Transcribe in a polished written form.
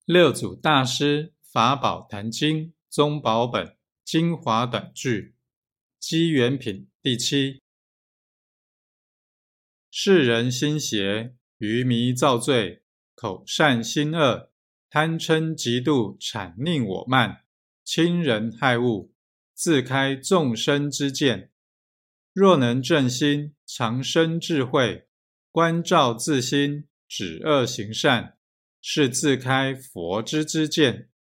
六祖大师法宝坛经宗宝本精华短句机缘品第7。世人心邪，愚迷造罪，口善心恶，贪嗔嫉妒谄佞我慢，亲人害物，自开众生之见。若能正心，常生智慧，观照自心，止恶行善，是自开佛之知见。